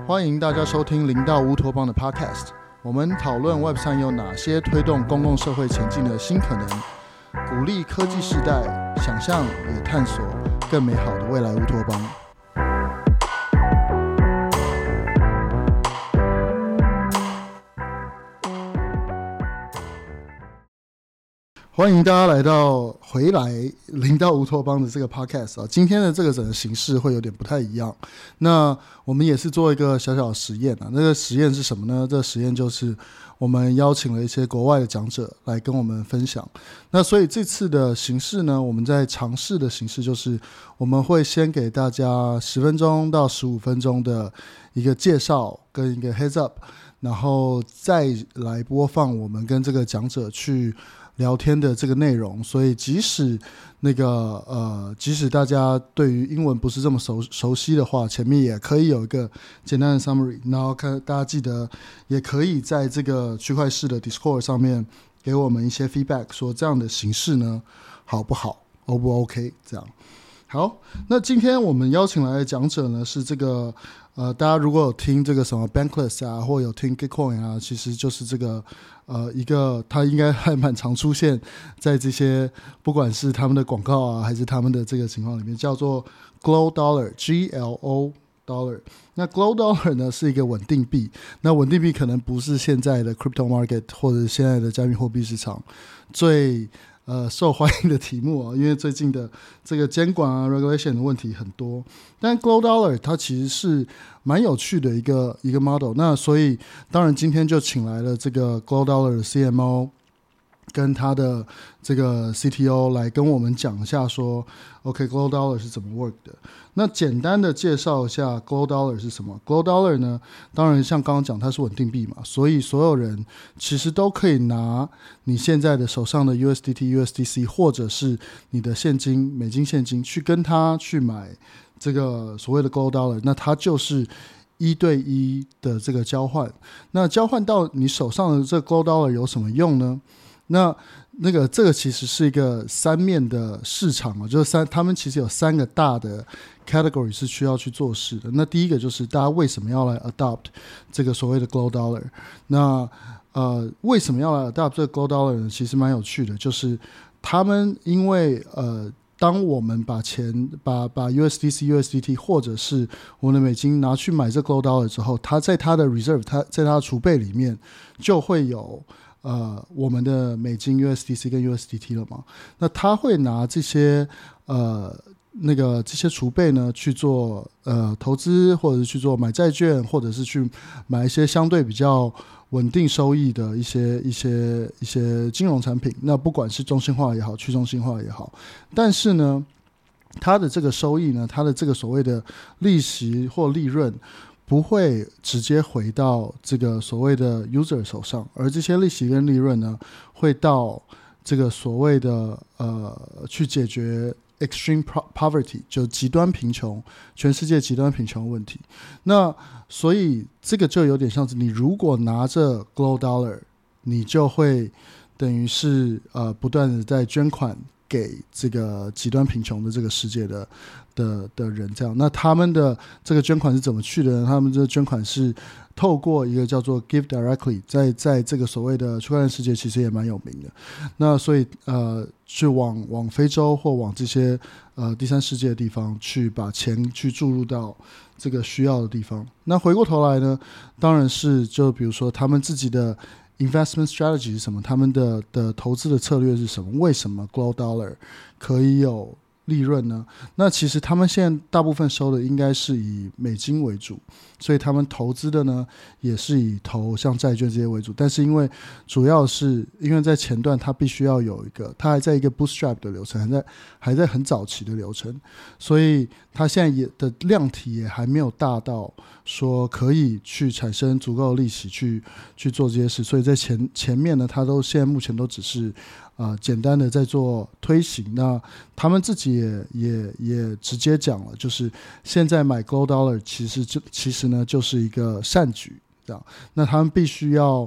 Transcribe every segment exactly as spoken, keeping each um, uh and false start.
歡迎大家收聽零到烏托邦的 Podcast。我們討論 Web 三有哪些推動公共社會前進的新可能，鼓勵科技世代想象與探索更美好的未來烏托邦。歡迎大家來到回來零到烏托邦的這個 podcast 啊，今天的這個整個形式會有點不太一樣。那我們也是做一個小小的實驗啊，那個實驗是什麼呢？這個實驗就是我們邀請了一些國外的講者來跟我們分享。那所以這次的形式呢，我們在嘗試的形式就是我們會先給大家十分鐘到十五分鐘的一個介紹跟一個 heads up， 然後再來播放我們跟這個講者去聊天的這個內容。所以即使那個呃，即使大家對於英文不是這麼熟熟悉的話，前面也可以有一個簡單的 summary， 然後看大家記得也可以在這個區塊勢的 Discord 上面給我們一些 feedback， 說這樣的形式呢好不好 ，O 不 OK？ 這樣好。那今天我們邀請來的講者呢是這個呃，大家如果有聽這個什麼 Bankless 啊，或有聽 Gitcoin 啊，其實就是這個。呃，一個他應該還蠻常出現在這些不管是他們的廣告啊，還是他們的這個情況裡面，叫做 Glow Dollar G L O Dollar。那 Glow Dollar 呢是一個穩定幣，那穩定幣可能不是現在的 Crypto Market 或者現在的加密貨幣市場最呃受歡迎的題目啊，因為最近的這個監管啊 regulation 的問題很多。但 Glow Dollar 它其實是蠻有趣的一個一個 model， 那所以當然今天就請來了這個 Glow Dollar 的 C M O 跟他的這個 C T O 來跟我們講一下說 OK Glow Dollar 是怎麼 work 的。那簡單的介紹一下 Glow Dollar 是什麼。 Glow Dollar 呢，當然像剛剛講它是穩定幣嘛，所以所有人其實都可以拿你現在的手上的 U S D T、U S D C 或者是你的現金美金現金去跟他去買這個所謂的 Glow Dollar， 那它就是一對一的這個交換。那交換到你手上的這個 Glow Dollar 有什麼用呢？那那個這個其實是一個三面的市場啊，就是三，他們其實有三個大的 category 是需要去做事的。那第一個就是大家為什麼要來 adopt 這個所謂的 Glow Dollar？ 那呃為什麼要來 adopt 這個 Glow Dollar 呢？其實蠻有趣的，就是他們因為呃。當我們把錢把把 U S D C、U S D T 或者是我們的美金拿去買這 Glow Dollar 之後，它在它的 reserve， 它在它的儲備裡面就會有呃我們的美金 U S D C 跟 U S D T 了嘛？那他會拿這些呃那個這些儲備呢去做呃投資，或者是去做買債券，或者是去買一些相對比較穩定收益的一些一些一些金融產品，那不管是中心化也好，去中心化也好，但是呢，它的這個收益呢，它的這個所謂的利息或利潤，不會直接回到這個所謂的 user 手上，而這些利息跟利潤呢，會到這個所謂的呃去解決extreme poverty， 就極端貧窮，全世界極端貧窮問題。那所以這個就有點像是你如果拿着 Glow Dollar， 你就會等於是呃不斷的在捐款給這個極端貧窮的這個世界的的的人，這樣。那他們的這個捐款是怎麼去的呢？他們這個捐款是透過一個叫做 Give Directly， 在在這個所謂的區塊鏈世界其實也蠻有名的。那所以呃，去往往非洲或往這些呃第三世界的地方去把錢去注入到這個需要的地方。那回過頭來呢，當然是就比如說他們自己的 investment strategy 是什麼，他們的的投資的策略是什麼？為什麼 Glow Dollar 可以有利潤呢？那其實他們現在大部分收的應該是以美金為主，所以他們投資的呢也是以投像債券這些為主。但是因為主要是因為在前段它必須要有一個，它還在一個 bootstrap 的流程，還在還在很早期的流程，所以它現在也的量體也還沒有大到說可以去產生足夠的利息去去做這些事。所以在前前面呢，它都現在目前都只是呃，簡單的在做推行。那他們自己也也也直接講了，就是現在買 Glow Dollar 其實就其實呢就是一個善舉，這樣。那他們必須要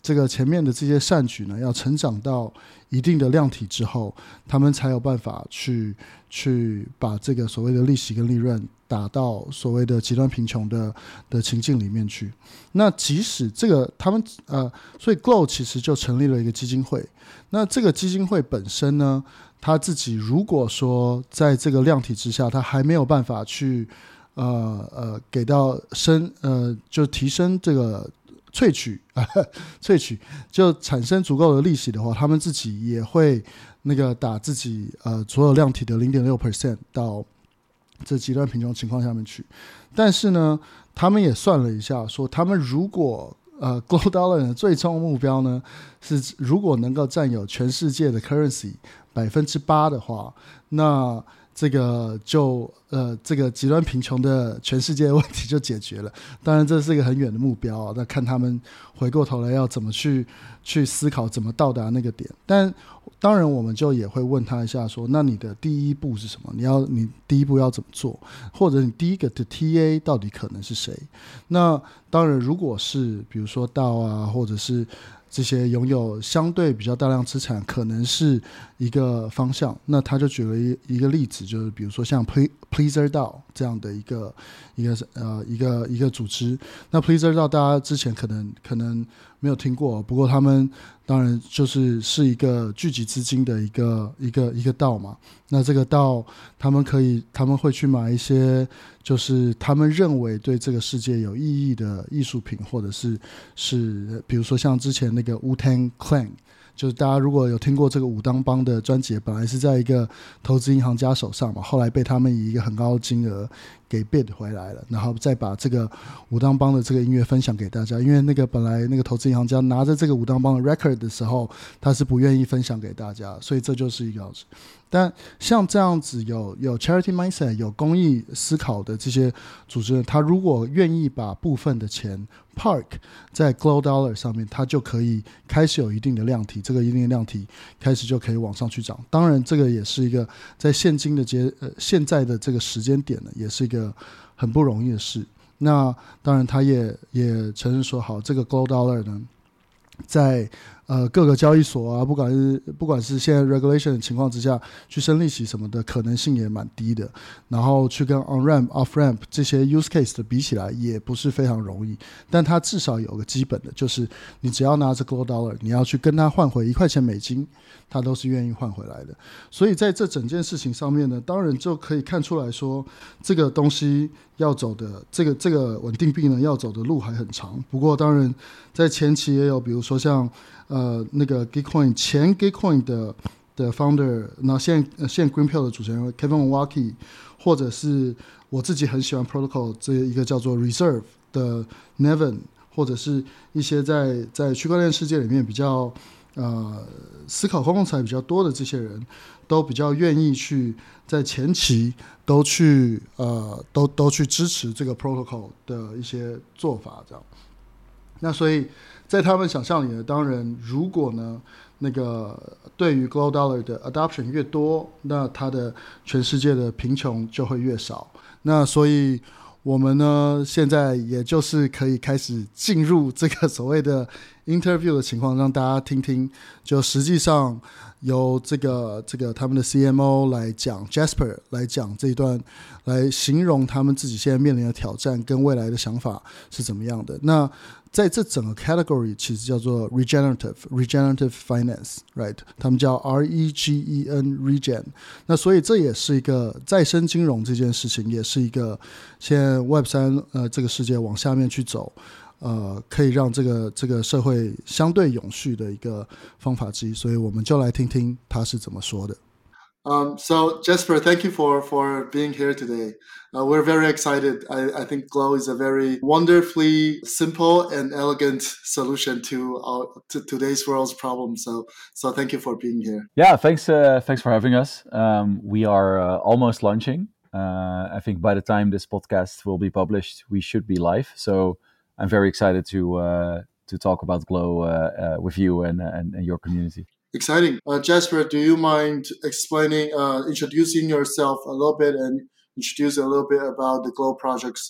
這個前面的這些善舉呢，要成長到一定的量體之後，他們才有辦法去去把這個所謂的利息跟利潤打到所謂的極端貧窮的的情境裡面去。那即使這個他們呃，所以 Glo 其實就成立了一個基金會。那這個基金會本身呢，他自己如果說在這個量體之下，他還沒有辦法去呃呃給到升呃就提升這個。萃取啊，萃取就產生足夠的利息的話，他們自己也會那個打自己呃所有量體的 零點六 percent 到這極端貧窮情況下面去。但是呢，他們也算了一下，說他們如果呃 Glo Dollar 的最終目標呢是如果能夠佔有全世界的 currency 百分之八的話，那這個就呃，這個極端貧窮的全世界的問題就解決了。當然，這是一個很遠的目標啊，那看他們回過頭來要怎麼去去思考，怎麼到達那個點。但當然，我們就也會問他一下說，說那你的第一步是什麼？你要你第一步要怎麼做？或者你第一個的 T A 到底可能是誰？那當然，如果是比如說道啊，或者是這些擁有相對比較大量資產，可能是一個方向。那他就舉了一一個例子，就是比如說像 Pleasr DAO 這樣的一個一個呃一個一個組織。那 Pleasr DAO 大家之前可能可能沒有聽過，不過他們當然就是是一個聚集資金的一個一個一個道嘛。那這個道他們可以他們會去買一些就是他們認為對這個世界有意義的藝術品，或者是是比如說像之前那個 Wu-Tang Clan， 就是大家如果有聽過這個武當幫的專輯，本來是在一個投資銀行家手上嘛，後來被他們以一個很高的金額給 bid 回來了，然後再把這個武當幫的這個音樂分享給大家。因為那個本來那個投資銀行家拿着這個武當幫的 record 的時候，他是不願意分享給大家，所以這就是一個。但像這樣子有有 charity mindset 有公益思考的這些組織，他如果願意把部分的錢 park 在 Glo Dollar 上面，他就可以開始有一定的量體，這個一定的量體開始就可以往上去漲。當然，這個也是一個在現今的節呃現在的這個時間點呢，也是一個很不容易的事。那當然，他也也承認說，好，這個 Glo Dollar 呢，在呃各個交易所啊，不管是不管是現在 regulation 的情況之下，去升利息什麼的可能性也蠻低的。然後去跟 on ramp off ramp 這些 use case 的比起來，也不是非常容易。但它至少有個基本的，就是你只要拿着 Glo Dollar， 你要去跟他換回一塊錢美金，他都是願意換回來的。所以在這整件事情上面呢，當然就可以看出來說，這個東西要走的這個這個穩定幣呢，要走的路還很長。不過當然在前期也有，比如說像呃那個 Gitcoin 前 Gitcoin 的的 founder， 那現在、呃、現在 Greenpill 的主持人 Kevin Owocki， 或者是我自己很喜歡 Protocol 這一個叫做 Reserve 的 Nevin， 或者是一些在在區塊鏈世界裡面比較呃思考公共財比較多的這些人，都比較願意去在前期都去呃都都去支持這個 Protocol 的一些做法，這樣。那所以在他們想象裡呢，當然如果呢那個對於 Glo Dollar 的 adoption 越多，那它的全世界的貧窮就會越少。那所以我們呢現在也就是可以開始進入這個所謂的 interview 的情況，讓大家聽聽，就實際上由這個這個他們的 C M O 來講 Jasper 來講這一段，來形容他們自己現在面臨的挑戰跟未來的想法是怎麼樣的。那在這整個 category 其實叫做 regenerative regenerative finance right， 他們叫 R E G E N regen。 那所以這也是一個再生金融，這件事情也是一個現在 Web 三 呃這個世界往下面去走，呃可以讓這個這個社會相對永續的一個方法之一。所以我們就來聽聽他是怎麼說的。Um, so Jasper, thank you for, for being here today. Uh, we're very excited. I, I think Glo is a very wonderfully simple and elegant solution to our to today's world's problems. So, so thank you for being here. Yeah, thanks. Uh, thanks for having us. Um, we are uh, almost launching. Uh, I think by the time this podcast will be published, we should be live. So I'm very excited to uh, to talk about Glo uh, uh, with you and, and and your community. Exciting. Uh, Jasper, do you mind explaining, uh, introducing yourself a little bit and introduce a little bit about the Glo projects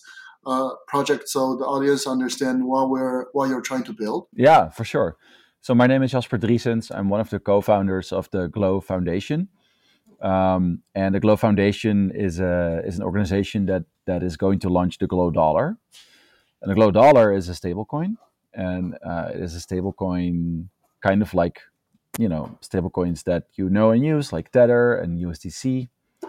uh, project so the audience understand what we're what you're trying to build? Yeah, for sure. So my name is Jasper Driesens. I'm one of the co-founders of the Glow Foundation. Um, and the Glow Foundation is a is an organization that that is going to launch the Glow Dollar. And the Glow Dollar is a stablecoin, and uh, it is a stablecoin kind of like, you know, stablecoins that you know and use, like Tether and U S D C.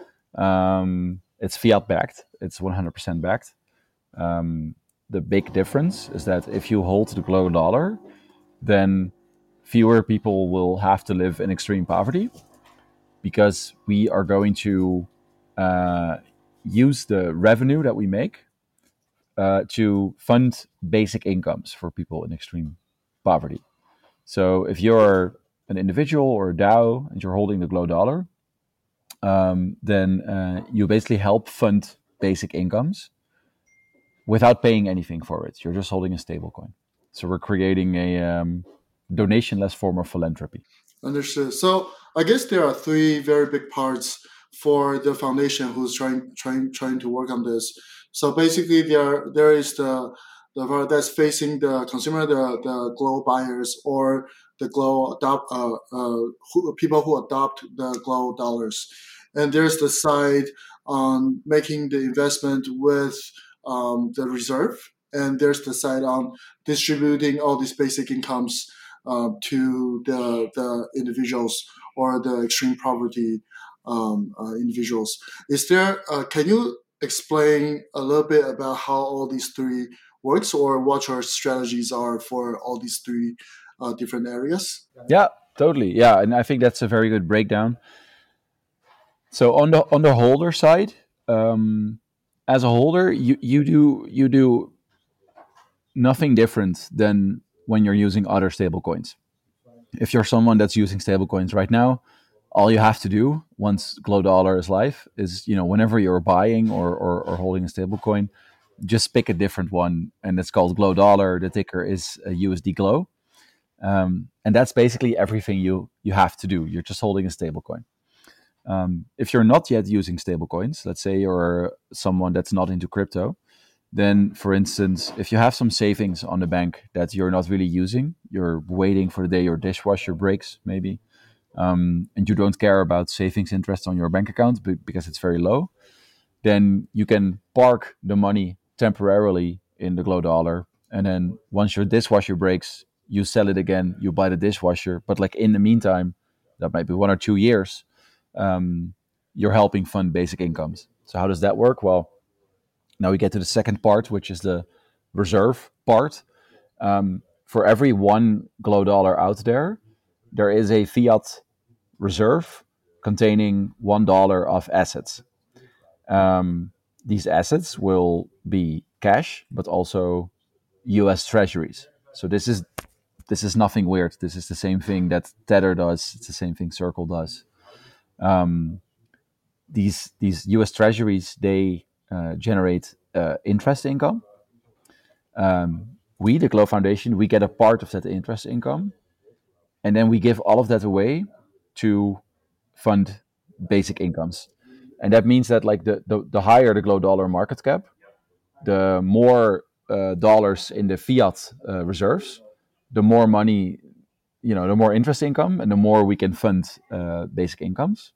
Um, it's fiat backed. It's one hundred percent backed. Um, the big difference is that if you hold the Glow Dollar, then fewer people will have to live in extreme poverty, because we are going to uh, use the revenue that we make uh, to fund basic incomes for people in extreme poverty. So if you're an individual or a DAO and you're holding the Glow Dollar, um, then uh, you basically help fund basic incomes without paying anything for it. You're just holding a stable coin. So we're creating a um, donation-less form of philanthropy. Understood. So I guess there are three very big parts for the foundation who's trying trying trying to work on this. So basically, there there is the the part that's facing the consumer, the the Glow buyers, or the Glow adopt uh, uh who, people who adopt the Glow dollars, and there's the side on making the investment with um, the reserve, and there's the side on distributing all these basic incomes uh, to the the individuals or the extreme poverty um, uh, individuals. Is there? Uh, can you explain a little bit about how all these three works, or what your strategies are for all these three uh, different areas? Yeah, totally. Yeah, and I think that's a very good breakdown. So on the on the holder side, um, as a holder, you, you do you do nothing different than when you're using other stablecoins. If you're someone that's using stablecoins right now, all you have to do once Glow Dollar is live is, you know, whenever you're buying or, or, or holding a stablecoin, just pick a different one, and it's called Glow Dollar. The ticker is a U S D Glow, um, and that's basically everything you you have to do. You're just holding a stablecoin. Um, if you're not yet using stablecoins, let's say you're someone that's not into crypto, then, for instance, if you have some savings on the bank that you're not really using, you're waiting for the day your dishwasher breaks, maybe, um, and you don't care about savings interest on your bank account because it's very low, then you can park the money temporarily in the Glow Dollar. And then once your dishwasher breaks, you sell it again, you buy the dishwasher. But like in the meantime, that might be one or two years, um, you're helping fund basic incomes. So how does that work? Well, now we get to the second part, which is the reserve part. Um, for every one Glow Dollar out there, there is a fiat reserve containing one dollar of assets. Um, these assets will be cash, but also U S Treasuries. So this is this is nothing weird. This is the same thing that Tether does. It's the same thing Circle does. Um, these these U S Treasuries, they uh, generate uh, interest income. Um, we, the Glow Foundation, we get a part of that interest income, and then we give all of that away to fund basic incomes. And that means that like the, the, the higher the Glow Dollar market cap, the more uh, dollars in the fiat uh, reserves, the more money, you know, the more interest income, and the more we can fund uh, basic incomes.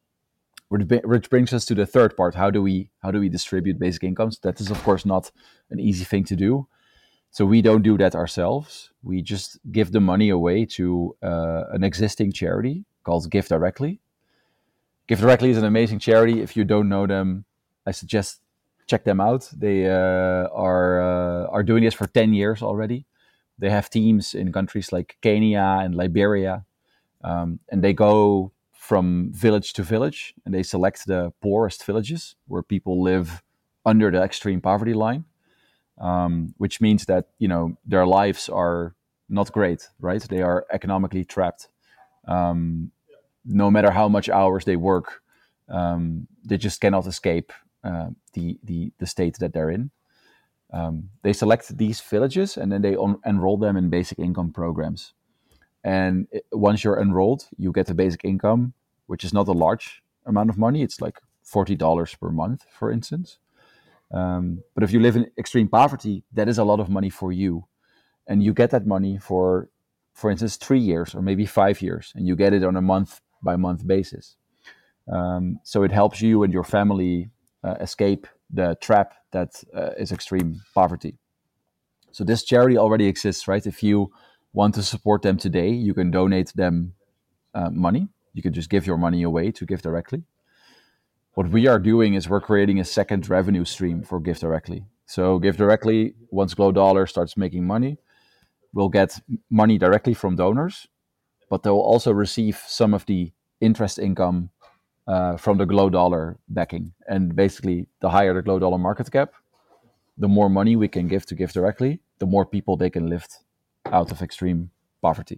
Which brings us to the third part. How do we how do we distribute basic incomes? That is, of course, not an easy thing to do. So we don't do that ourselves. We just give the money away to uh, an existing charity called Give Directly. Give Directly is an amazing charity. If you don't know them, I suggest check them out. They uh, are uh, are doing this for ten years already. They have teams in countries like Kenya and Liberia, um, and they go from village to village, and they select the poorest villages where people live under the extreme poverty line, um, which means that, you know, their lives are not great, right? They are economically trapped. Um, no matter how much hours they work, um, they just cannot escape uh, the, the the state that they're in. Um, they select these villages, and then they on- enroll them in basic income programs. And it, once you're enrolled, you get a basic income, which is not a large amount of money. It's like forty dollars per month, for instance. Um, but if you live in extreme poverty, that is a lot of money for you, and you get that money for, for instance, three years or maybe five years, and you get it on a month by month basis. Um, so it helps you and your family uh, escape the trap that uh, is extreme poverty. So this charity already exists, right? If you want to support them today, you can donate them uh, money. You can just give your money away to Give Directly. What we are doing is we're creating a second revenue stream for Give Directly. So Give Directly, once Glow Dollar starts making money, will get money directly from donors, but they'll also receive some of the interest income uh, from the Glow Dollar backing. And basically, the higher the Glow Dollar market cap, the more money we can give to Give Directly, the more people they can lift out of extreme poverty.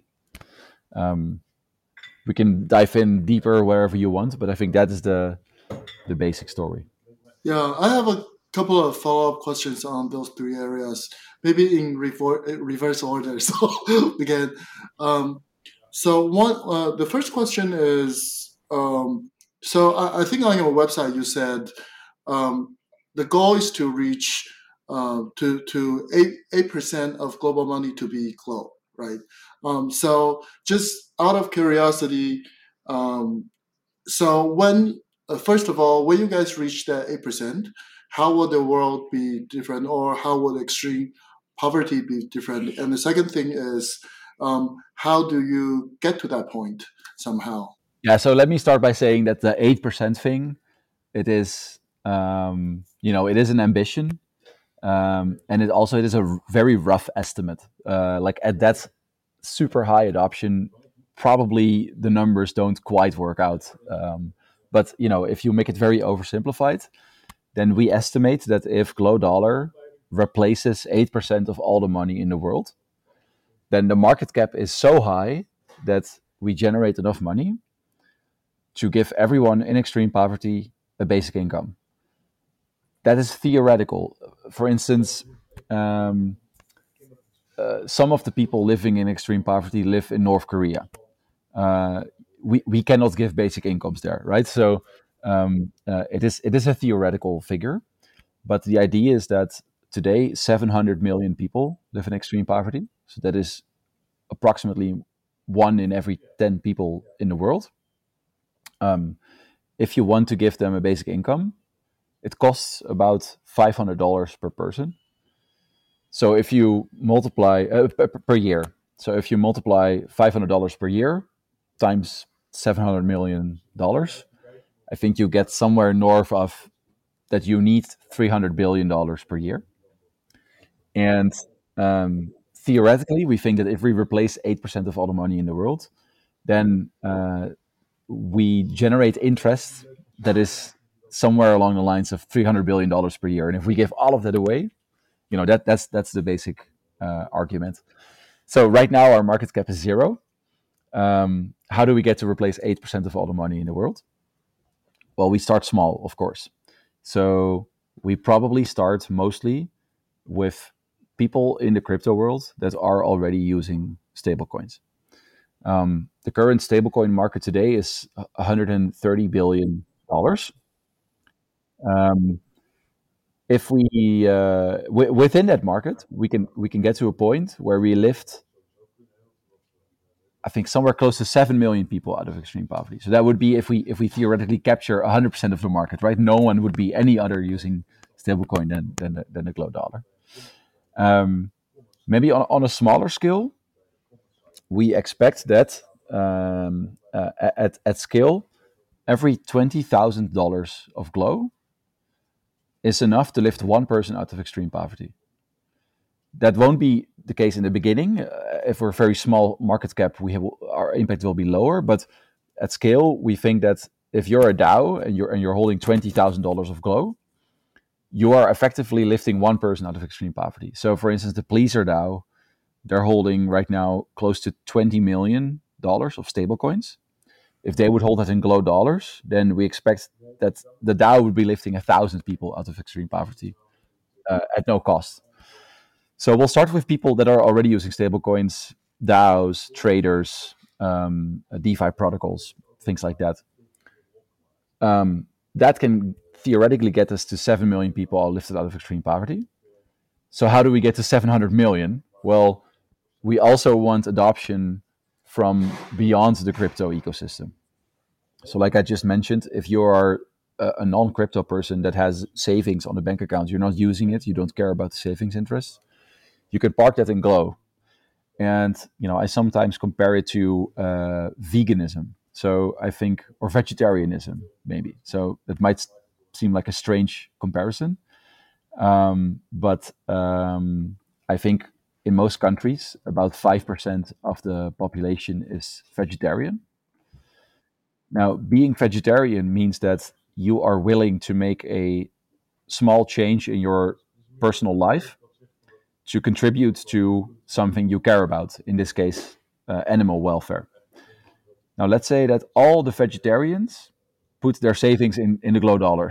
Um, we can dive in deeper wherever you want, but I think that is the the basic story. Yeah, I have a couple of follow-up questions on those three areas, maybe in rever- reverse order. So again, um, so one, uh, the first question is, um, so I, I think on your website you said um, the goal is to reach uh, to to eight eight percent of global money to be Glow, right? Um, so just out of curiosity, um, so when uh, first of all, when you guys reach that eight percent, how will the world be different, or how will extreme poverty be different? And the second thing is, um, how do you get to that point somehow? Yeah, so let me start by saying that the eight percent thing, it is, um, you know, it is an ambition. Um, and it also it is a r- very rough estimate. Uh, like at that super high adoption, probably the numbers don't quite work out. Um, but you know, if you make it very oversimplified, then we estimate that if Glow Dollar replaces eight percent of all the money in the world, then the market cap is so high that we generate enough money to give everyone in extreme poverty a basic income. That is theoretical. For instance, um, uh, some of the people living in extreme poverty live in North Korea. Uh, we, we cannot give basic incomes there, right? So um, uh, it is it is a theoretical figure, but the idea is that today seven hundred million people live in extreme poverty. So that is approximately one in every ten people in the world. Um, if you want to give them a basic income, it costs about five hundred dollars per person. So if you multiply uh, per, per year, so if you multiply five hundred dollars per year times seven hundred million dollars, I think you get somewhere north of that you need three hundred billion dollars per year. And um, theoretically, we think that if we replace eight percent of all the money in the world, then uh, we generate interest that is somewhere along the lines of three hundred billion dollars per year. And if we give all of that away, you know, that that's that's the basic uh, argument. So right now our market cap is zero. Um, how do we get to replace eight percent of all the money in the world? Well, we start small, of course. So we probably start mostly with people in the crypto world that are already using stablecoins. Um, the current stablecoin market today is one hundred thirty billion dollars. Um, if we uh, w- within that market, we can we can get to a point where we lift, I think, somewhere close to seven million people out of extreme poverty. So that would be if we if we theoretically capture one hundred percent of the market, right? No one would be any other using stablecoin than than the, than the Glow Dollar. Um, maybe on, on a smaller scale, we expect that um, uh, at at scale, every twenty thousand dollars of Glow is enough to lift one person out of extreme poverty. That won't be the case in the beginning. Uh, if we're a very small market cap, we have our impact will be lower. But at scale, we think that if you're a DAO and you're and you're holding twenty thousand dollars of Glow, you are effectively lifting one person out of extreme poverty. So, for instance, the Pleaser DAO, they're holding right now close to twenty million dollars of stablecoins. If they would hold that in Glow dollars, then we expect that the DAO would be lifting a thousand people out of extreme poverty uh, at no cost. So we'll start with people that are already using stablecoins, DAOs, traders, um, DeFi protocols, things like that. Um, that can theoretically get us to seven million people are lifted out of extreme poverty. So how do we get to seven hundred million? Well, we also want adoption from beyond the crypto ecosystem. So like I just mentioned, if you are a, a non-crypto person that has savings on a bank account, you're not using it, you don't care about the savings interest, you can park that in Glow. And, you know, I sometimes compare it to uh, veganism. So I think, or vegetarianism, maybe. So it might seem like a strange comparison. Um, but um, I think in most countries, about five percent of the population is vegetarian. Now, being vegetarian means that you are willing to make a small change in your personal life to contribute to something you care about, in this case, uh, animal welfare. Now, let's say that all the vegetarians put their savings in, in the Glow dollar.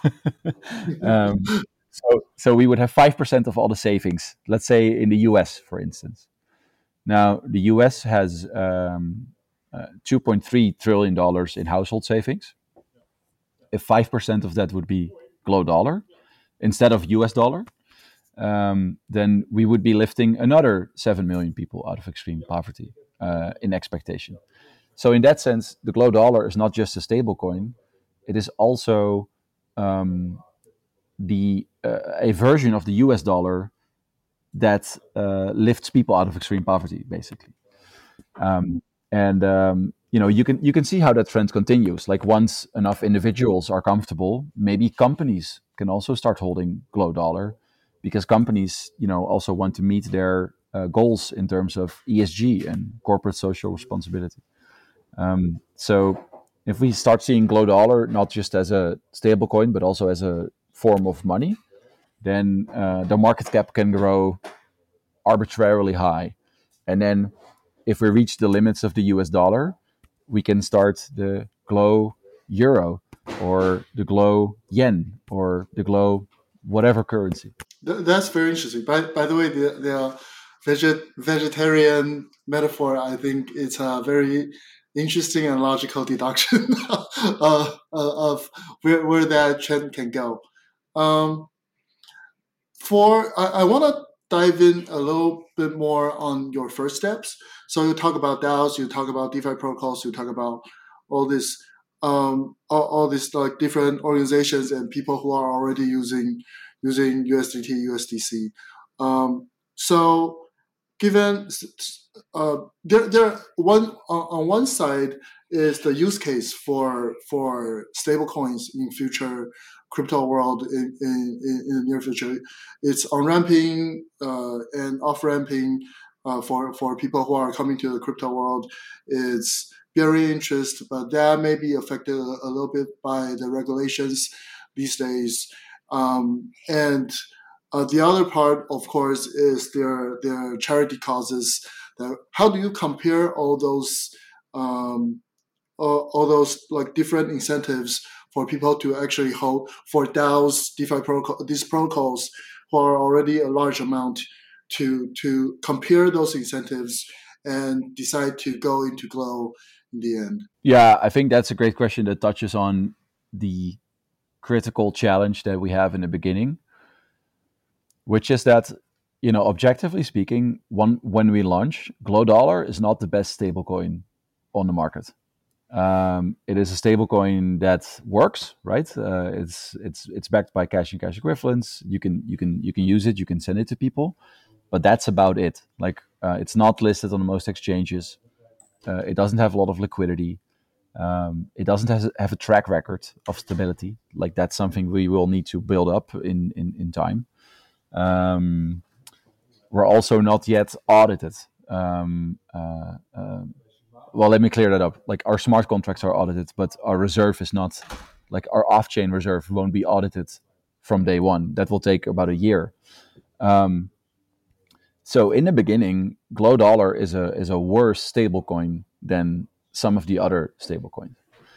um, so, so we would have five percent of all the savings, let's say in the U S, for instance. Now, the U S has um, uh, two point three trillion dollars in household savings. If five percent of that would be Glow dollar instead of U S dollar, um, then we would be lifting another seven million people out of extreme poverty uh, in expectation. So in that sense, the Glow dollar is not just a stable coin; it is also um, the uh, a version of the U S dollar that uh, lifts people out of extreme poverty, basically. Um, and um, you know, you can you can see how that trend continues. Like once enough individuals are comfortable, maybe companies can also start holding Glow dollar, because companies, you know, also want to meet their uh, goals in terms of E S G and corporate social responsibility. Um, so if we start seeing Glow dollar not just as a stable coin but also as a form of money, then uh, the market cap can grow arbitrarily high. And then if we reach the limits of the U S dollar, we can start the Glow euro or the Glow yen or the Glow whatever currency. Th- that's very interesting. By by the way, the the veget, vegetarian metaphor, I think it's a very interesting and logical deduction uh, of where where that trend can go. Um, for I, I want to dive in a little bit more on your first steps. So you talk about DAOs, you talk about DeFi protocols, you talk about all this, um, all, all these like different organizations and people who are already using using U S D T, U S D C. Um, so given uh, there, there one on, on one side is the use case for for stablecoins in future crypto world in, in, in the near future. It's on ramping uh, and off ramping uh, for for people who are coming to the crypto world. It's bearing interest, but that may be affected a, a little bit by the regulations these days. Um, and uh, the other part, of course, is their their charity causes. That, how do you compare all those um, all, all those like different incentives for people to actually hold for DAOs, DeFi protocol, these protocols who are already a large amount to to compare those incentives and decide to go into Glow in the end? Yeah, I think that's a great question that touches on the critical challenge that we have in the beginning, which is that, you know, objectively speaking, one, when we launch, Glow dollar is not the best stablecoin on the market. Um, it is a stablecoin that works, right? Uh, it's it's it's backed by cash and cash equivalents. You can you can you can use it. You can send it to people, but that's about it. Like uh, it's not listed on most exchanges. Uh, it doesn't have a lot of liquidity. Um, it doesn't have, have a track record of stability. Like that's something we will need to build up in in, in time. Um, we're also not yet audited. Um, uh, uh, well, let me clear that up. Like our smart contracts are audited, but our reserve is not. Like our off-chain reserve won't be audited from day one. That will take about a year. Um, so in the beginning, Glow dollar is a is a worse stablecoin than some of the other stablecoins.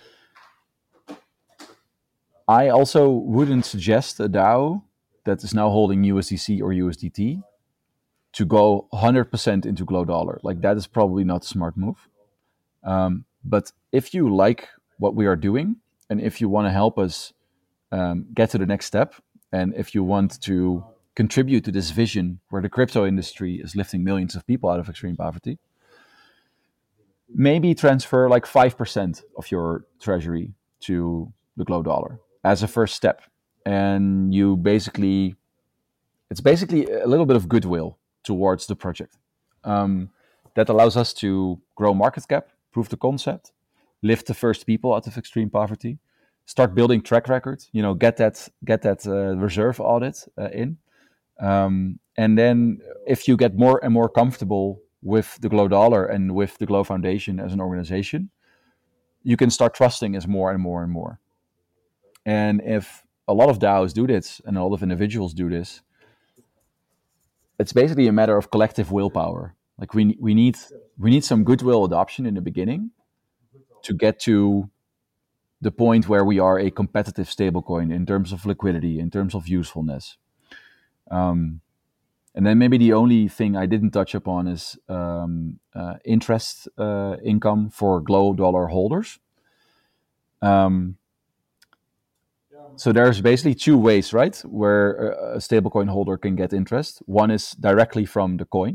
I also wouldn't suggest a DAO that is now holding U S D C or U S D T to go one hundred percent into Glow dollar. Like that is probably not a smart move. Um, but if you like what we are doing, and if you want to help us um, get to the next step, and if you want to contribute to this vision where the crypto industry is lifting millions of people out of extreme poverty, maybe transfer like five percent of your treasury to the Glow dollar as a first step. And you basically, it's basically a little bit of goodwill towards the project. Um, that allows us to grow market cap, prove the concept, lift the first people out of extreme poverty, start building track record, you know, get that, get that uh, reserve audit uh, in. Um, and then if you get more and more comfortable with the Glow dollar and with the Glow Foundation as an organization, you can start trusting us more and more and more. And if a lot of DAOs do this and a lot of individuals do this, it's basically a matter of collective willpower. Like we we need we need some goodwill adoption in the beginning to get to the point where we are a competitive stablecoin in terms of liquidity, in terms of usefulness. Um, and then maybe the only thing I didn't touch upon is um, uh, interest uh, income for Glow dollar holders. Um, so there's basically two ways, right, where a stablecoin holder can get interest. One is directly from the coin.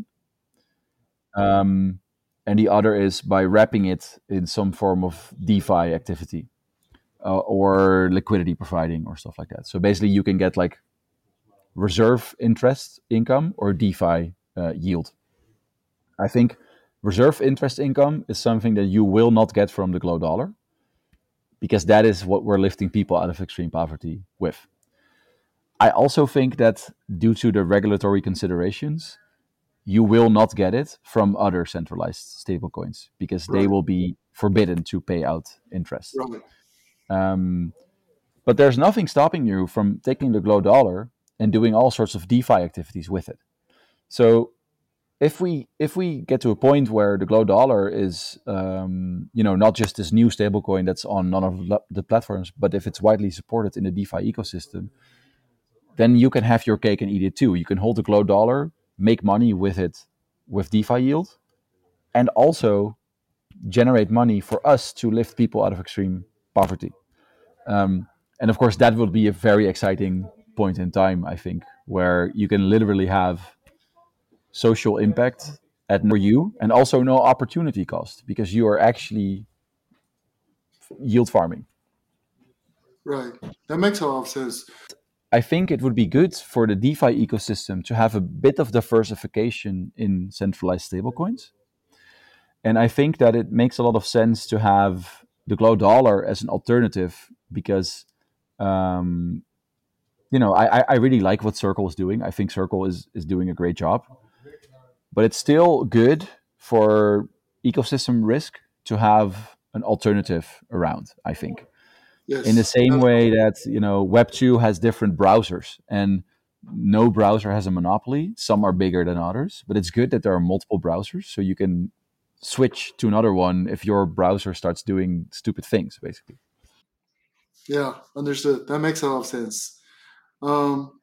Um, and the other is by wrapping it in some form of DeFi activity uh, or liquidity providing or stuff like that. So basically you can get like reserve interest income or DeFi uh, yield. I think reserve interest income is something that you will not get from the Glow dollar, because that is what we're lifting people out of extreme poverty with. I also think that due to the regulatory considerations, you will not get it from other centralized stablecoins, because right. they will be forbidden to pay out interest. Right. Um, but there's nothing stopping you from taking the Glow dollar and doing all sorts of DeFi activities with it. So if we if we get to a point where the Glow dollar is um, you know not just this new stablecoin that's on none of the platforms, but if it's widely supported in the DeFi ecosystem, then you can have your cake and eat it too. You can hold the Glow dollar, make money with it with DeFi yield, and also generate money for us to lift people out of extreme poverty. Um, and of course, that will be a very exciting point in time, I think, where you can literally have social impact at no you and also no opportunity cost, because you are actually yield farming. Right. That makes a lot of sense. I think it would be good for the DeFi ecosystem to have a bit of diversification in centralized stablecoins. And I think that it makes a lot of sense to have the Glow dollar as an alternative, because, um, you know, I, I really like what Circle is doing. I think Circle is, is doing a great job. But it's still good for ecosystem risk to have an alternative around, I think. Yes. In the same way that, you know, Web two has different browsers and no browser has a monopoly. Some are bigger than others, but it's good that there are multiple browsers, so you can switch to another one if your browser starts doing stupid things, basically. Yeah, understood. That makes a lot of sense. Um,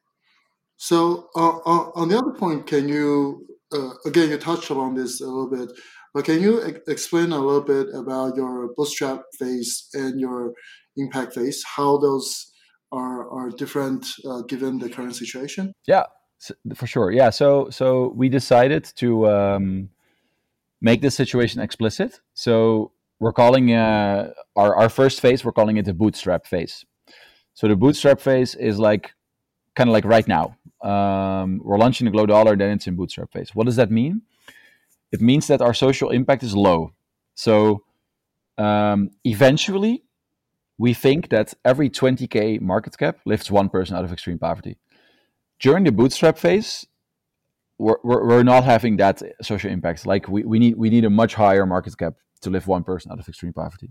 so uh, uh, on the other point, can you, uh, again, you touched on this a little bit, but can you e- explain a little bit about your bootstrap phase and your impact phase, how those are, are different uh, given the current situation? Yeah, for sure. Yeah, so so we decided to um, make this situation explicit. So we're calling uh, our, our first phase, we're calling it the bootstrap phase. So the bootstrap phase is like, kind of like right now. Um, we're launching the Glow dollar, then it's in bootstrap phase. What does that mean? It means that our social impact is low. So um, eventually, we think that every twenty K market cap lifts one person out of extreme poverty. During the bootstrap phase, we're, we're, we're not having that social impact. Like we, we need we need a much higher market cap to lift one person out of extreme poverty.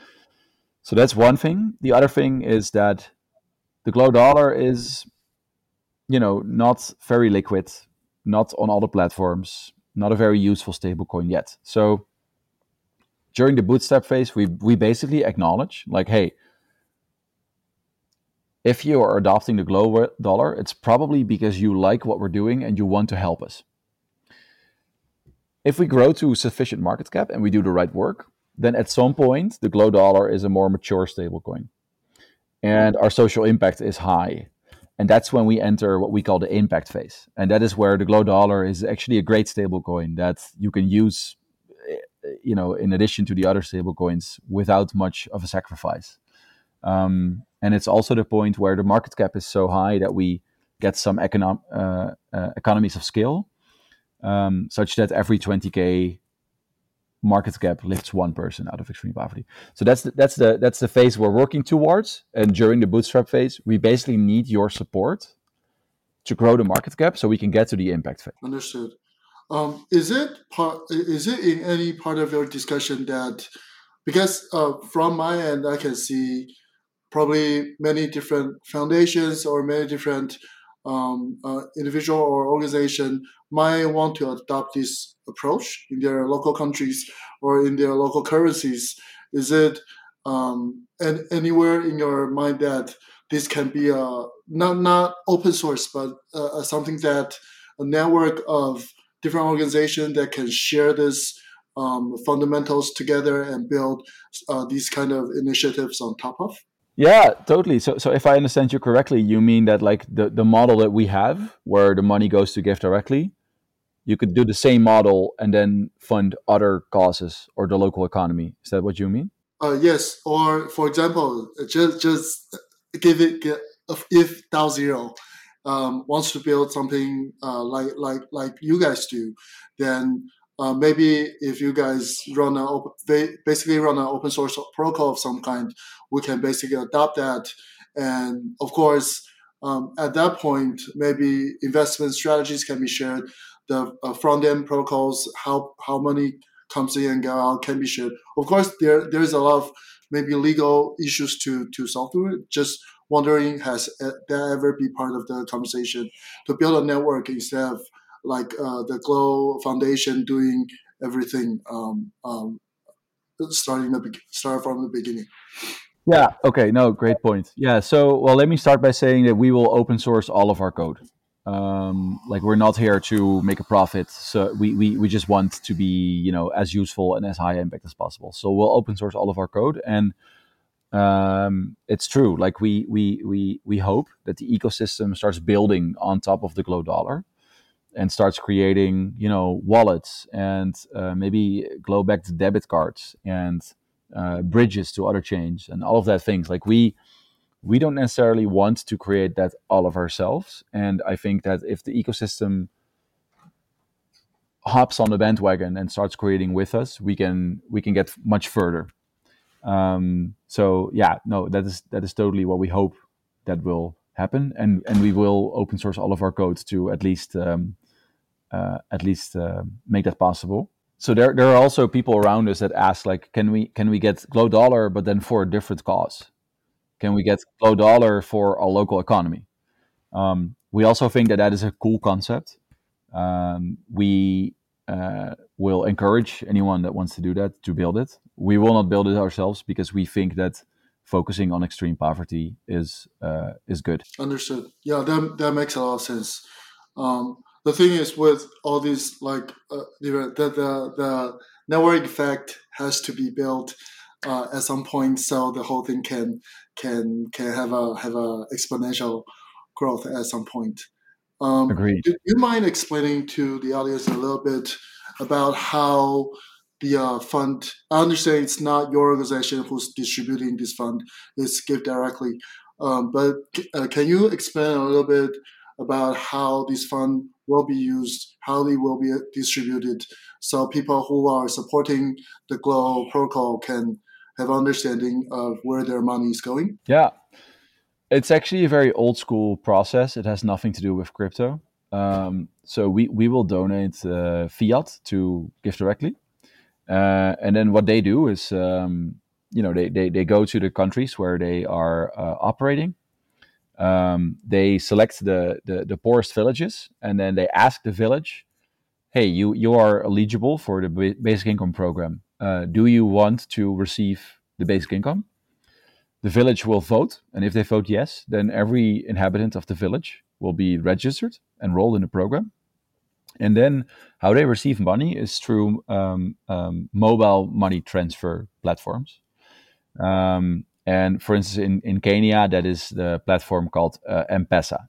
So that's one thing. The other thing is that the Glow dollar is, you know, not very liquid, not on all the platforms, not a very useful stablecoin yet. So during the bootstrap phase, we we basically acknowledge, like, hey, if you are adopting the Glow dollar, it's probably because you like what we're doing and you want to help us. If we grow to sufficient market cap and we do the right work, then at some point, the Glow dollar is a more mature stablecoin. and our social impact is high. And that's when we enter what we call the impact phase. And that is where the Glow Dollar is actually a great stable coin that you can use, you know, in addition to the other stable coins without much of a sacrifice. Um, and it's also the point where the market cap is so high that we get some econom- uh, uh, economies of scale, um, such that every twenty K market cap lifts one person out of extreme poverty. So that's the, that's the that's the phase we're working towards. And during the bootstrap phase, we basically need your support to grow the market cap so we can get to the impact phase. Understood. Um, is it part? Is it in any part of your discussion that, because uh, from my end, I can see probably many different foundations or many different um, uh, individual or organization might want to adopt this approach in their local countries or in their local currencies. Is it um, and anywhere in your mind that this can be a not not open source, but uh, something that a network of different organizations that can share this um, fundamentals together and build uh, these kind of initiatives on top of? Yeah, totally. So, so if I understand you correctly, you mean that like the, the model that we have, where the money goes to give directly, you could do the same model and then fund other causes or the local economy. Is that what you mean? Uh, yes, or for example, just just give it get, if DAO Zero um, wants to build something uh, like like like you guys do, then uh, maybe if you guys run a op- basically run an open source protocol of some kind, we can basically adopt that, and of course, um, at that point, maybe investment strategies can be shared. The uh, front end protocols, how how money comes in and go out, can be shared. Of course, there there's a lot of maybe legal issues to to solve through it. Just wondering, has that ever be part of the conversation to build a network instead of like uh, the Glow Foundation doing everything, um, um, starting the start from the beginning? Yeah. Okay. No, great point. Yeah. So, well, let me start by saying that we will open source all of our code. Um, like we're not here to make a profit. So we, we, we just want to be, you know, as useful and as high impact as possible. So we'll open source all of our code. And um, it's true. Like we, we, we, we hope that the ecosystem starts building on top of the Glow Dollar and starts creating, you know, wallets and uh, maybe Glow-backed debit cards and uh, bridges to other chains and all of that things. Like we, we don't necessarily want to create that all of ourselves. And I think that if the ecosystem hops on the bandwagon and starts creating with us, we can we can get much further. Um, so yeah, no, that is that is totally what we hope that will happen, and and we will open source all of our codes to at least um, uh, at least uh, make that possible. So there there are also people around us that ask like, can we can we get Glow Dollar, but then for a different cause? Can we get Glow Dollar for our local economy? Um, we also think that that is a cool concept. Um, we uh, will encourage anyone that wants to do that to build it. We will not build it ourselves because we think that focusing on extreme poverty is uh, is good. Understood. Yeah, that that makes a lot of sense. Um, the thing is with all these like uh, the, the the the network effect has to be built uh, at some point, so the whole thing can can can have a have a exponential growth at some point. Um, Agreed. do you mind explaining to the audience a little bit about how the uh, fund? I understand it's not your organization who's distributing this fund; it's Give Directly. Um, but uh, can you explain a little bit about how this fund will be used, how they will be distributed, so people who are supporting the Glow protocol can have understanding of where their money is going? Yeah, it's actually a very old school process. It has nothing to do with crypto. Um, so we we will donate uh, fiat to Give Directly. Uh, and then what they do is, um, you know, they, they, they go to the countries where they are uh, operating. Um, they select the, the, the poorest villages, and then they ask the village, hey, you, you are eligible for the ba- basic income program. Uh, do you want to receive the basic income? The village will vote. And if they vote yes, then every inhabitant of the village will be registered, enrolled in the program. And then how they receive money is through um, um, mobile money transfer platforms. Um, and for instance, in, in Kenya, that is the platform called uh, M-Pesa,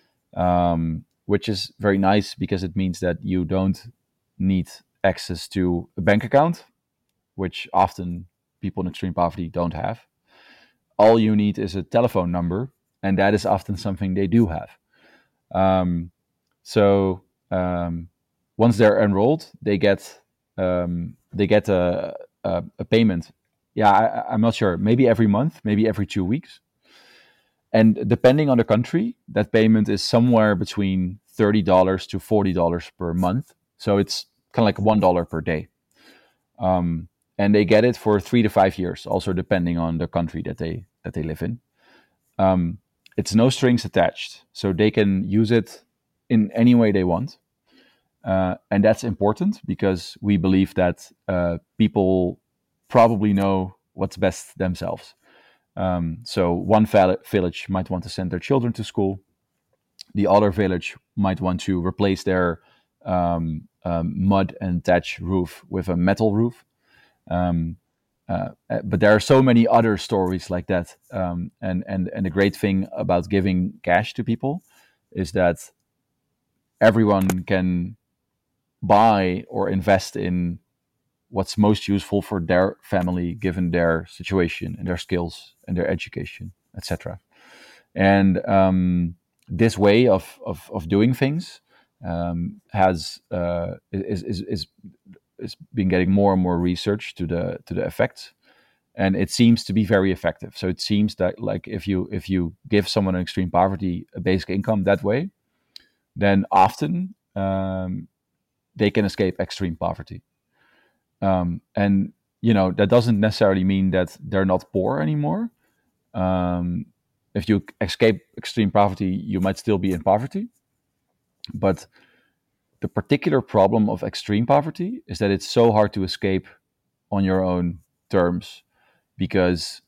um, which is very nice because it means that you don't need access to a bank account, which often people in extreme poverty don't have. All you need is a telephone number, and that is often something they do have. Um, so um, once they're enrolled, they get um, they get a, a, a payment. Yeah, I, I'm not sure. Maybe every month, maybe every two weeks. And depending on the country, that payment is somewhere between thirty dollars to forty dollars per month. So it's kind of like one dollar per day. Um, and they get it for three to five years, also depending on the country that they that they live in. Um, it's no strings attached, so they can use it in any way they want, uh, and that's important because we believe that uh, people probably know what's best themselves. Um, so one val- village might want to send their children to school. The other village might want to replace their um, um, mud and thatch roof with a metal roof. Um, uh, uh, but there are so many other stories like that. Um, and, and, and the great thing about giving cash to people is that everyone can buy or invest in what's most useful for their family, given their situation and their skills and their education, et cetera. And um, this way of, of, of doing things um, has uh, is, is, is is been getting more and more research to the to the effects, and it seems to be very effective. So it seems that like if you if you give someone in extreme poverty a basic income that way, then often um, they can escape extreme poverty. Um, and you know that doesn't necessarily mean that they're not poor anymore. Um, if you escape extreme poverty, you might still be in poverty, but the particular problem of extreme poverty is that it's so hard to escape on your own terms, because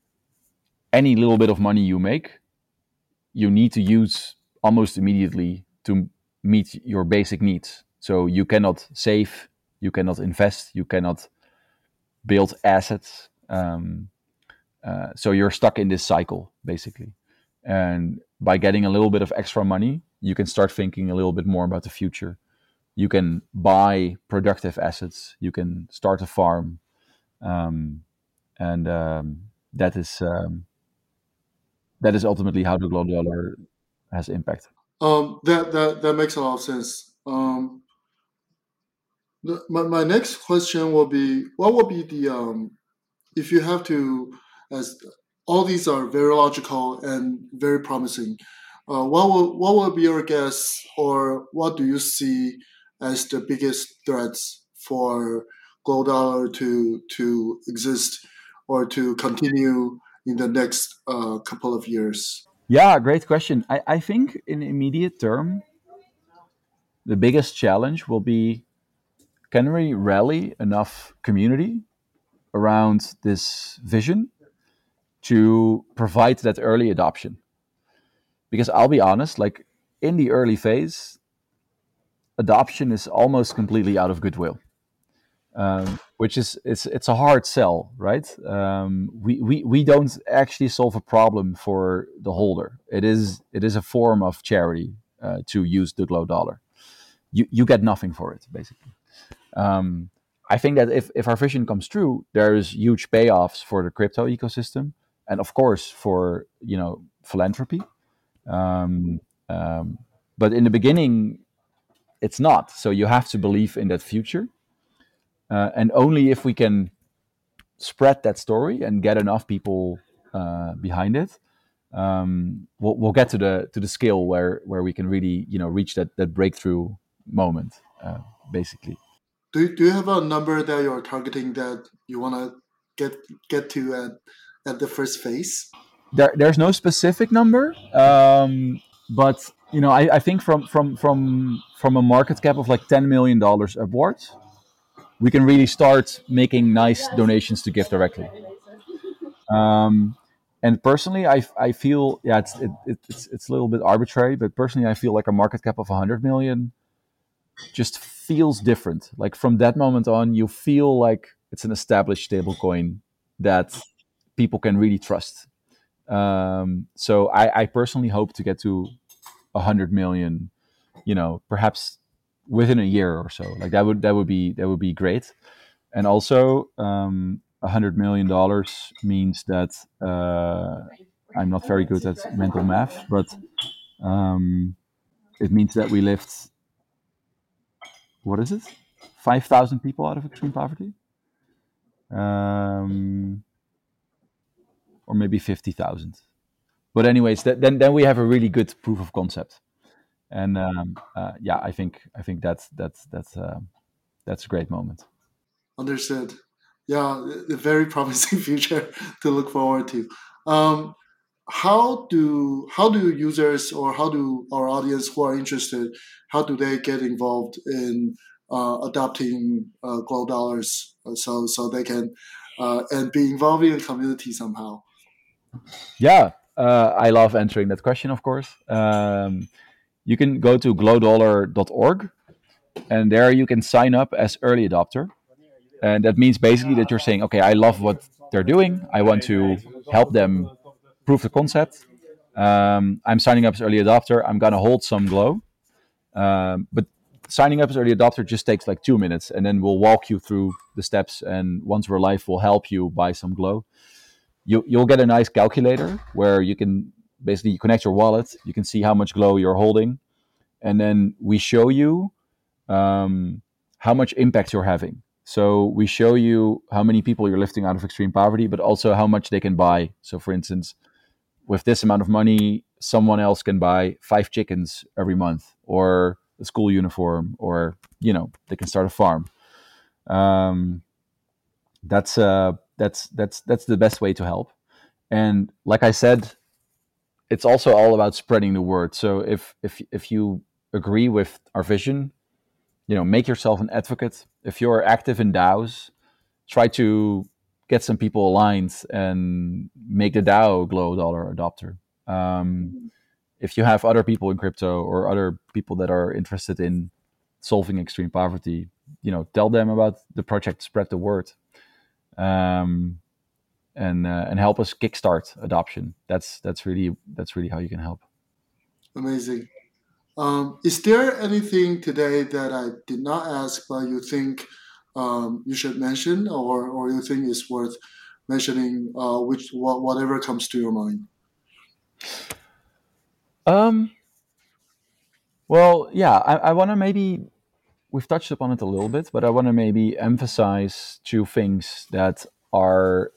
any little bit of money you make, you need to use almost immediately to meet your basic needs. So you cannot save, you cannot invest, you cannot build assets. Um, uh, so you're stuck in this cycle, basically. And by getting a little bit of extra money, you can start thinking a little bit more about the future. You can buy productive assets. You can start a farm, um, and um, that is um, that is ultimately how the global dollar has impact. Um, that that that makes a lot of sense. Um, the, my my next question will be, what will be the um, if you have to, as all these are very logical and very promising, uh, what will what will be your guess, or what do you see as the biggest threats for gold dollar to to exist or to continue in the next uh, couple of years? Yeah, great question. I, I think in immediate term, the biggest challenge will be, can we rally enough community around this vision to provide that early adoption? Because I'll be honest, like in the early phase, adoption is almost completely out of goodwill, um, which is it's it's a hard sell, right? Um, we, we we don't actually solve a problem for the holder. It is it is a form of charity uh, to use the glow dollar. You you get nothing for it, basically. Um, I think that if if our vision comes true, there's huge payoffs for the crypto ecosystem, and of course for you know philanthropy. Um, um, but in the beginning, it's not. So you have to believe in that future, uh, and only if we can spread that story and get enough people uh, behind it, um, we'll, we'll get to the to the scale where where we can really you know reach that that breakthrough moment, uh, basically. Do you, do you have a number that you're targeting that you want to get get to at at the first phase? There, there's no specific number, um, but you know, I, I think from from from from a market cap of like ten million dollars upwards, we can really start making nice donations to give directly. Um, and personally, I, I feel yeah, it's it, it's it's a little bit arbitrary, but personally, I feel like a market cap of one hundred million just feels different. Like from that moment on, you feel like it's an established stablecoin that people can really trust. Um, so I, I personally hope to get to a hundred million, you know, perhaps within a year or so. Like that would that would be that would be great. And also, um, a hundred million dollars means that uh, I'm not very good at mental math, but um, it means that we lift, what is it, five thousand people out of extreme poverty, um, or maybe fifty thousand. But anyways, that, then then we have a really good proof of concept. And um, uh, yeah, I think I think that's that's that's uh, that's a great moment. Understood. Yeah, a very promising future to look forward to. Um, how do how do users or how do our audience who are interested, how do they get involved in uh, adopting uh, Glow Dollars uh, so so they can uh, and be involved in the community somehow? Yeah, uh, I love answering that question. Of course, um, you can go to glow dollar dot org, and there you can sign up as early adopter. And that means basically that you're saying, okay, I love what they're doing. I want to help them prove the concept. Um, I'm signing up as early adopter. I'm gonna hold some Glow, um, but signing up as early adopter just takes like two minutes, and then we'll walk you through the steps. And once we're live, we'll help you buy some Glow. You, you'll get a nice calculator where you can basically connect your wallet. You can see how much Glow you're holding, and then we show you um, how much impact you're having. So we show you how many people you're lifting out of extreme poverty, but also how much they can buy. So for instance, with this amount of money, someone else can buy five chickens every month, or a school uniform, or, you know, they can start a farm. Um, that's uh, that's that's that's the best way to help. And like I said, it's also all about spreading the word. So if if if you agree with our vision, you know, make yourself an advocate. If you're active in DAOs, try to get some people aligned and make the DAO Glow Dollar adopter. Um, if you have other people in crypto or other people that are interested in solving extreme poverty, you know, tell them about the project, spread the word, um, and uh, and help us kickstart adoption. That's that's really that's really how you can help. Amazing. Um, is there anything today that I did not ask, but you think um, you should mention, or, or you think is worth mentioning? Uh, which wh- whatever comes to your mind. Um, well, yeah, I, I want to maybe, we've touched upon it a little bit, but I want to maybe emphasize two things that are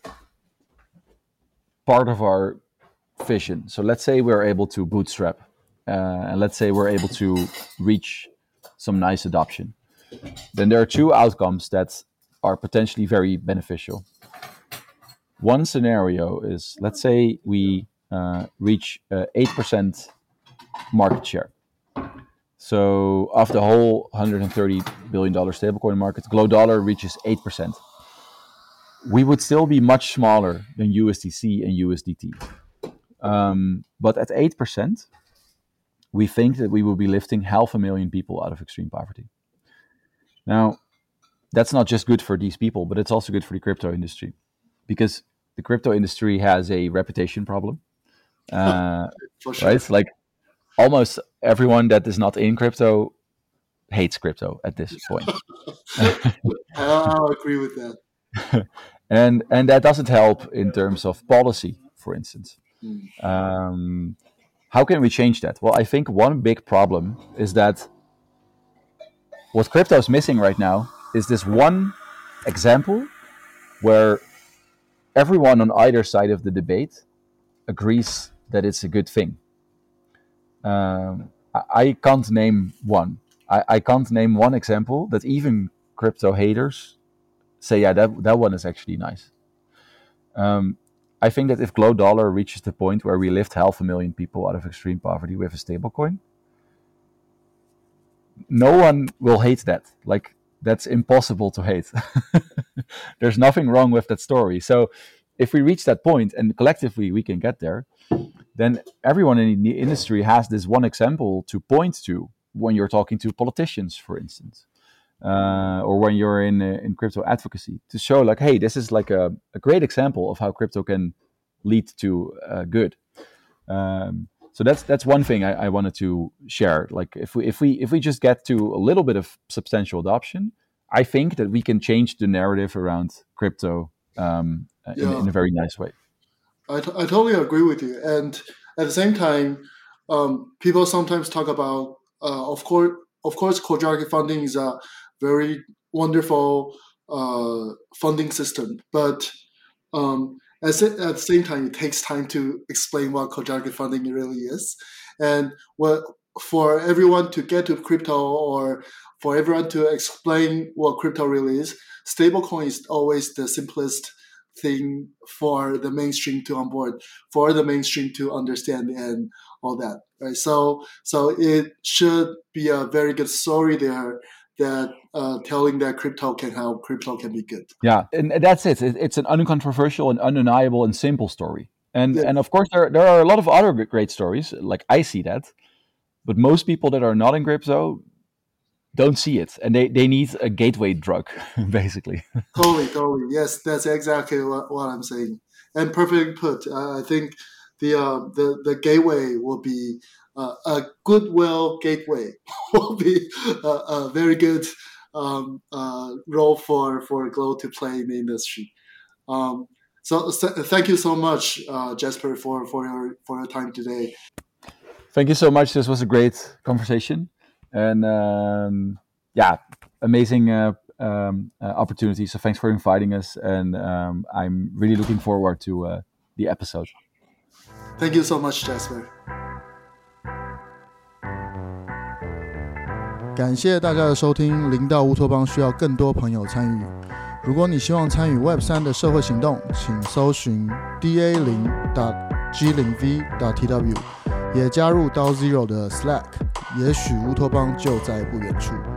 part of our vision. So let's say we're able to bootstrap, uh, and let's say we're able to reach some nice adoption. Then there are two outcomes that are potentially very beneficial. One scenario is, let's say we uh, reach uh, eight percent market share. So of the whole one hundred thirty billion dollars stablecoin market, Glow Dollar reaches eight percent. We would still be much smaller than U S D C and U S D T. Um, but at eight percent, we think that we will be lifting half a million people out of extreme poverty. Now, that's not just good for these people, but it's also good for the crypto industry, because the crypto industry has a reputation problem. Uh, For sure. right? Like almost everyone that is not in crypto hates crypto at this point. I'll agree with that. and and that doesn't help in terms of policy, for instance. Mm. Um, how can we change that? Well, I think one big problem is that what crypto is missing right now is this one example where everyone on either side of the debate agrees that it's a good thing. Um, I, I can't name one. I, I can't name one example that even crypto haters say, yeah, that that one is actually nice. Um, I think that if Glow Dollar reaches the point where we lift half a million people out of extreme poverty with a stablecoin, no one will hate that. Like, that's impossible to hate. There's nothing wrong with that story. So if we reach that point and collectively we can get there, then everyone in the industry has this one example to point to when you're talking to politicians, for instance. uh, or when you're in uh, in crypto advocacy, to show like, hey, this is like a, a great example of how crypto can lead to uh, good. Um, so that's that's one thing I, I wanted to share. Like if we if we if we just get to a little bit of substantial adoption, I think that we can change the narrative around crypto um, in, Yeah. in a very nice way. I, t- I totally agree with you. And at the same time, um, people sometimes talk about, uh, of course, of course, co-directed funding is a very wonderful uh, funding system, but um, at, the, at the same time, it takes time to explain what co-directed funding really is, and what for everyone to get to crypto, or for everyone to explain what crypto really is, stablecoin is always the simplest thing for the mainstream to onboard, for the mainstream to understand, and all that. Right. So, so it should be a very good story there, that uh, telling that crypto can help, crypto can be good. Yeah, and that's it. It's an uncontroversial and undeniable and simple story. And Yeah. and of course, there there are a lot of other great stories. Like I see that, but most people that are not in crypto don't see it, and they, they need a gateway drug, basically. Totally, totally. Yes, that's exactly what, what I'm saying, and perfectly put. Uh, I think the uh, the the gateway will be uh, a goodwill gateway will be a, a very good um, uh, role for for Glow to play in the industry. Um, so, so thank you so much, uh, Jesper, for, for your for your time today. Thank you so much. This was a great conversation, and um, yeah, amazing uh, um, uh, opportunity. So thanks for inviting us, and um, I'm really looking forward to uh, the episode. Thank you so much, Jesper. 感謝大家的收听，零到烏托邦需要更多朋友參與。如果你希望參與 Web 三 的社會行動，請搜尋 d a 零 G 零 V 點 T W， 也加入 D A O Zero 的 Slack， 也許烏托邦就在不遠處。